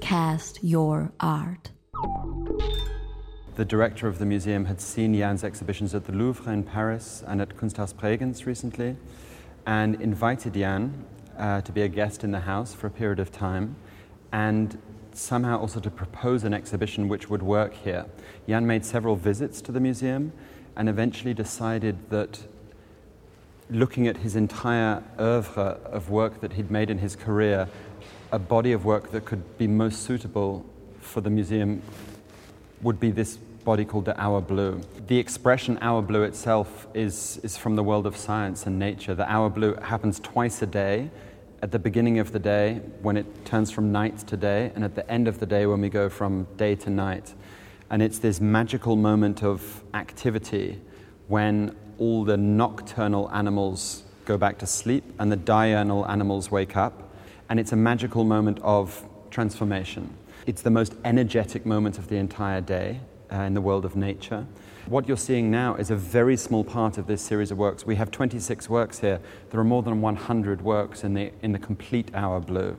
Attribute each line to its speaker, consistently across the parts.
Speaker 1: cast your art.
Speaker 2: The director of the museum had seen Jan's exhibitions at the Louvre in Paris and at Kunsthaus Bregenz recently, and invited Jan to be a guest in the house for a period of time, and somehow also to propose an exhibition which would work here. Jan made several visits to the museum and eventually decided that looking at his entire oeuvre of work that he'd made in his career, a body of work that could be most suitable for the museum would be this body called the Hour Blue. The expression Hour Blue itself is from the world of science and nature. The Hour Blue happens twice a day, at the beginning of the day when it turns from night to day, and at the end of the day when we go from day to night. And it's this magical moment of activity when all the nocturnal animals go back to sleep and the diurnal animals wake up, and it's a magical moment of transformation. It's the most energetic moment of the entire day in the world of nature. What you're seeing now is a very small part of this series of works. We have 26 works here. There are more than 100 works in the complete Hour Blue.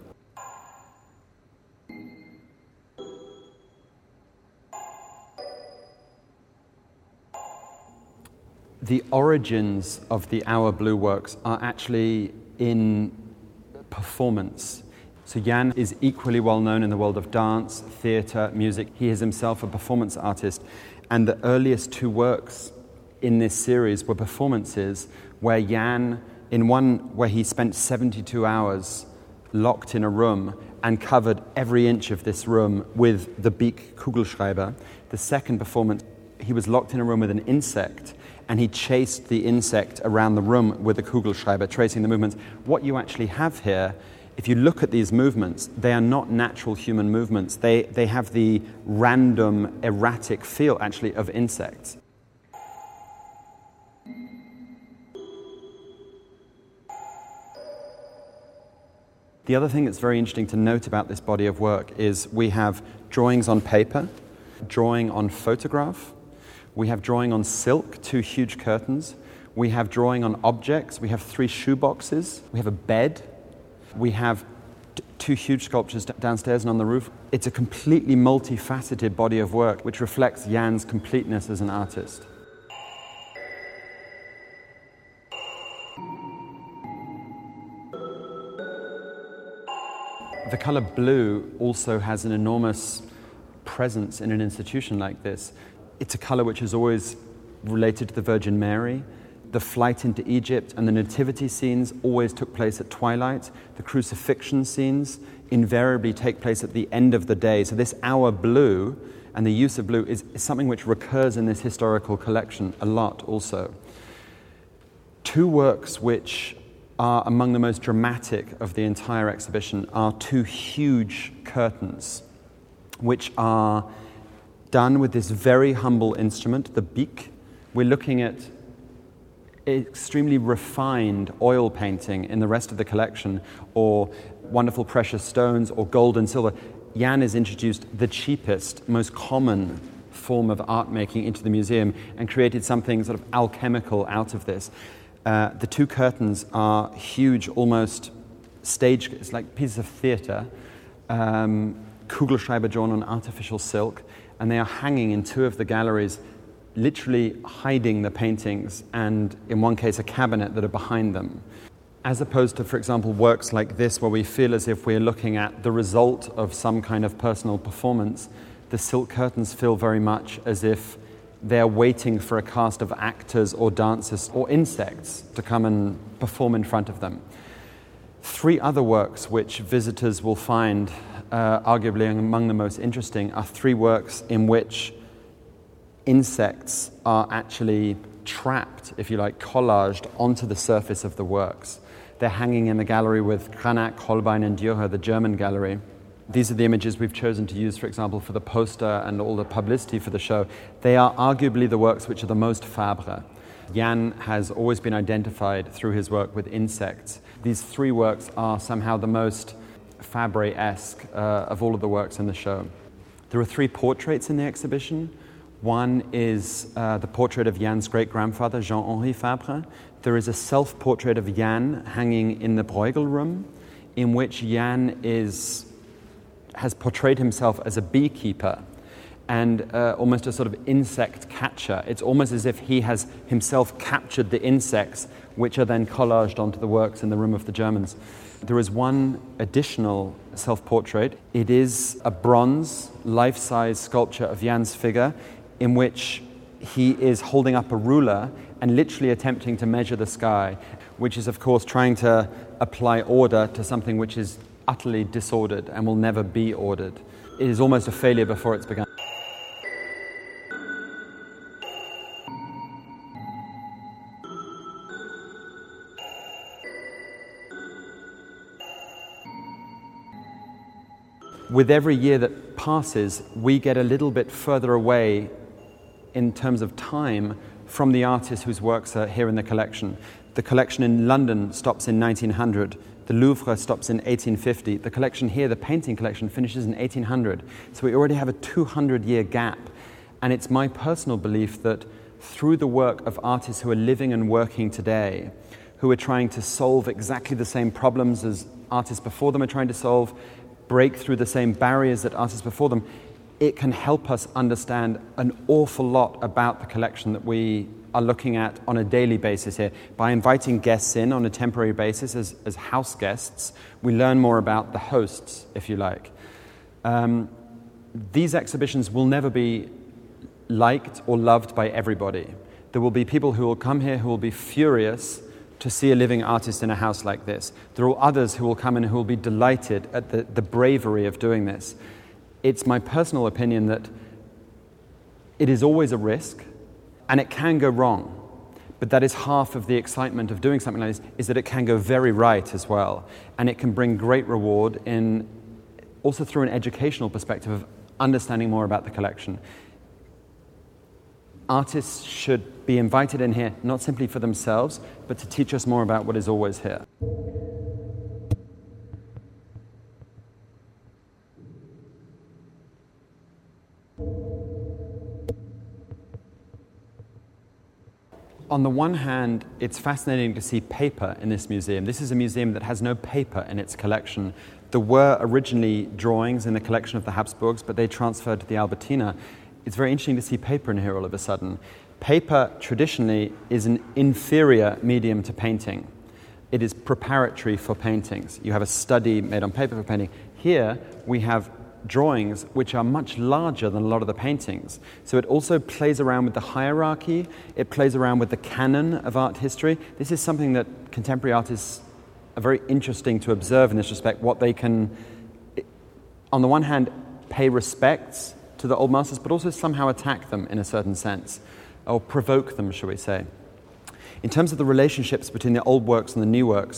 Speaker 2: The origins of the Hour Blue works are actually in performance. So Jan is equally well known in the world of dance, theatre, music. He is himself a performance artist. And the earliest two works in this series were performances where Jan, in one where he spent 72 hours locked in a room and covered every inch of this room with the Bic Kugelschreiber. The second performance, he was locked in a room with an insect and he chased the insect around the room with a Kugelschreiber, tracing the movements. What you actually have here, if you look at these movements, they are not natural human movements. They have the random, erratic feel, actually, of insects. The other thing that's very interesting to note about this body of work is we have drawings on paper, drawing on photograph, we have drawing on silk, 2 huge curtains, we have drawing on objects, we have 3 shoe boxes, we have a bed, we have 2 huge sculptures downstairs and on the roof. It's a completely multifaceted body of work which reflects Jan's completeness as an artist. The color blue also has an enormous presence in an institution like this. It's a color which is always related to the Virgin Mary. The flight into Egypt and the nativity scenes always took place at twilight. The crucifixion scenes invariably take place at the end of the day. So this Hour Blue and the use of blue is something which recurs in this historical collection a lot also. 2 works which are among the most dramatic of the entire exhibition are 2 huge curtains which are done with this very humble instrument, the Bic. We're looking at extremely refined oil painting in the rest of the collection, or wonderful precious stones, or gold and silver. Jan has introduced the cheapest, most common form of art making into the museum and created something sort of alchemical out of this. The 2 curtains are huge, almost stage, it's like pieces of theatre, Kugelschreiber drawn on artificial silk, and they are hanging in 2 of the galleries, literally hiding the paintings, and in one case a cabinet that are behind them. As opposed to, for example, works like this where we feel as if we're looking at the result of some kind of personal performance, the silk curtains feel very much as if they're waiting for a cast of actors or dancers or insects to come and perform in front of them. 3 other works which visitors will find arguably among the most interesting are 3 works in which insects are actually trapped, if you like, collaged onto the surface of the works. They're hanging in the gallery with Cranach, Holbein and Dürer, the German gallery. These are the images we've chosen to use, for example, for the poster and all the publicity for the show. They are arguably the works which are the most Fabre. Jan has always been identified through his work with insects. These 3 works are somehow the most Fabre-esque of all of the works in the show. There are 3 portraits in the exhibition. One is the portrait of Jan's great-grandfather, Jean-Henri Fabre. There is a self-portrait of Jan hanging in the Bruegel room, in which Jan is has portrayed himself as a beekeeper and almost a sort of insect catcher. It's almost as if he has himself captured the insects, which are then collaged onto the works in the Room of the Germans. There is one additional self-portrait. It is a bronze, life-size sculpture of Jan's figure in which he is holding up a ruler and literally attempting to measure the sky, which is, of course, trying to apply order to something which is utterly disordered and will never be ordered. It is almost a failure before it's begun. With every year that passes, we get a little bit further away in terms of time from the artists whose works are here in the collection. The collection in London stops in 1900. The Louvre stops in 1850. The collection here, the painting collection, finishes in 1800. So we already have a 200-year gap. And it's my personal belief that through the work of artists who are living and working today, who are trying to solve exactly the same problems as artists before them are trying to solve, break through the same barriers that artists before them, it can help us understand an awful lot about the collection that we are looking at on a daily basis here. By inviting guests in on a temporary basis as house guests, we learn more about the hosts, if you like. These exhibitions will never be liked or loved by everybody. There will be people who will come here who will be furious to see a living artist in a house like this. There are others who will come in who will be delighted at the bravery of doing this. It's my personal opinion that it is always a risk, and it can go wrong. But that is half of the excitement of doing something like this, is that it can go very right as well. And it can bring great reward in, also through an educational perspective of understanding more about the collection. Artists should be invited in here, not simply for themselves, but to teach us more about what is always here. On the one hand, it's fascinating to see paper in this museum. This is a museum that has no paper in its collection. There were originally drawings in the collection of the Habsburgs, but they transferred to the Albertina. It's very interesting to see paper in here all of a sudden. Paper, traditionally, is an inferior medium to painting. It is preparatory for paintings. You have a study made on paper for painting. Here, we have drawings which are much larger than a lot of the paintings. So it also plays around with the hierarchy. It plays around with the canon of art history. This is something that contemporary artists are very interesting to observe in this respect, what they can, on the one hand, pay respects to the old masters, but also somehow attack them in a certain sense, or provoke them, shall we say. In terms of the relationships between the old works and the new works,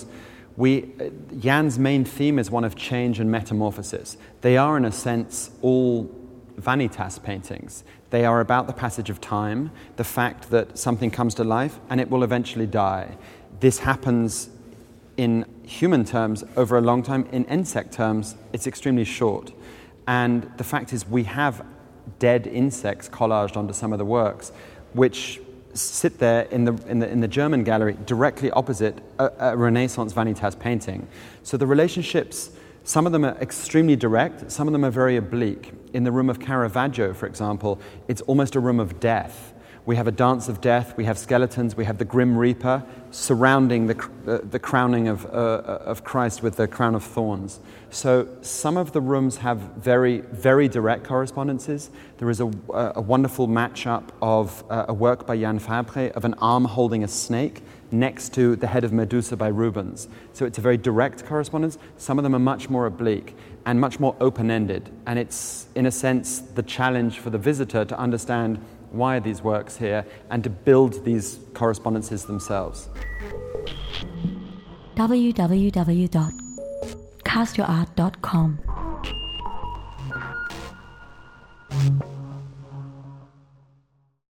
Speaker 2: Jan's main theme is one of change and metamorphosis. They are, in a sense, all vanitas paintings. They are about the passage of time, the fact that something comes to life and it will eventually die. This happens in human terms over a long time. In insect terms, it's extremely short. And the fact is, we have dead insects collaged onto some of the works, which sit there in the German gallery directly opposite a Renaissance vanitas painting. So the relationships, some of them are extremely direct, some of them are very oblique. In the room of Caravaggio, for example, it's almost a room of death. We have a dance of death, we have skeletons, we have the Grim Reaper surrounding the crowning of Christ with the crown of thorns. So some of the rooms have very, very direct correspondences. There is a wonderful match-up of a work by Jan Fabre of an arm holding a snake next to the head of Medusa by Rubens. So it's a very direct correspondence. Some of them are much more oblique and much more open-ended. And it's, in a sense, the challenge for the visitor to understand why are these works here, and to build these correspondences themselves.
Speaker 1: www.castyourart.com